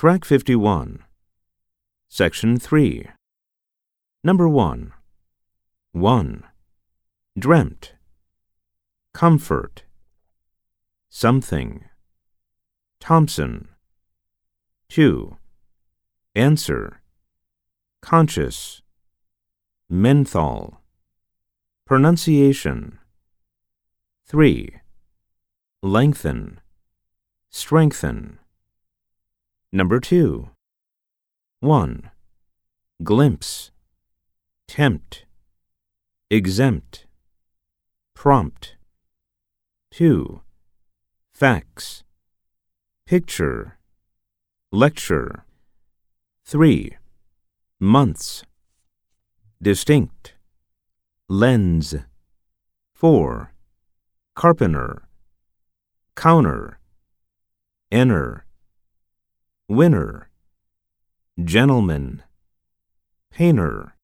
Track 51. Section 3. Number 1. 1. Dreamt. Comfort. Something. Thompson. 2. Answer. Conscious. Menthol. Pronunciation. 3. Lengthen. Strengthen. Number 2. 1. Glimpse. Tempt. Exempt. Prompt. 2. Facts. Picture. Lecture. 3. Months. Distinct. Lens. 4. Carpenter. Counter. Enter. Winner. Gentleman. Painter.